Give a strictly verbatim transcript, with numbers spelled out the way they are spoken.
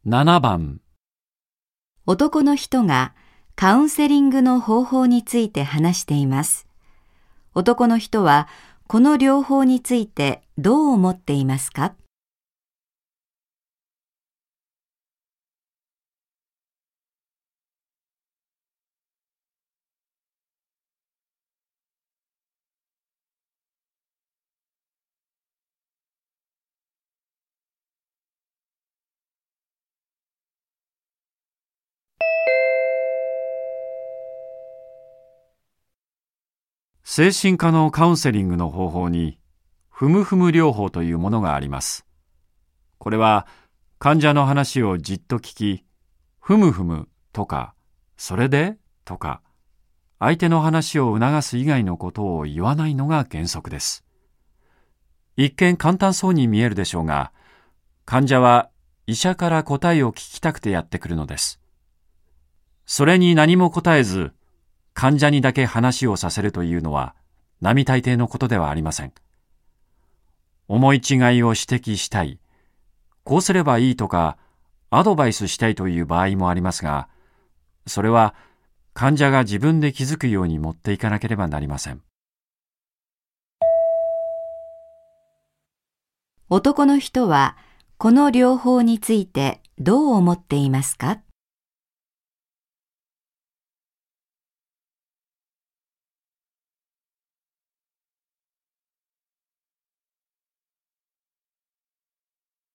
ななばん、 男の人がカウンセリングの方法について話しています。男の人はこの療法についてどう思っていますか？ 精神科のカウンセリングの方法に、ふむふむ療法というものがあります。これは、患者の話をじっと聞き、ふむふむとか、それでとか、相手の話を促す以外のことを言わないのが原則です。一見簡単そうに見えるでしょうが、患者は医者から答えを聞きたくてやってくるのです。それに何も答えず、患者にだけ話をさせるというのは並大抵のことではありません。思い違いを指摘したい、こうすればいいとかアドバイスしたいという場合もありますが、それは患者が自分で気づくように持っていかなければなりません。 男の人はこの療法についてどう思っていますか？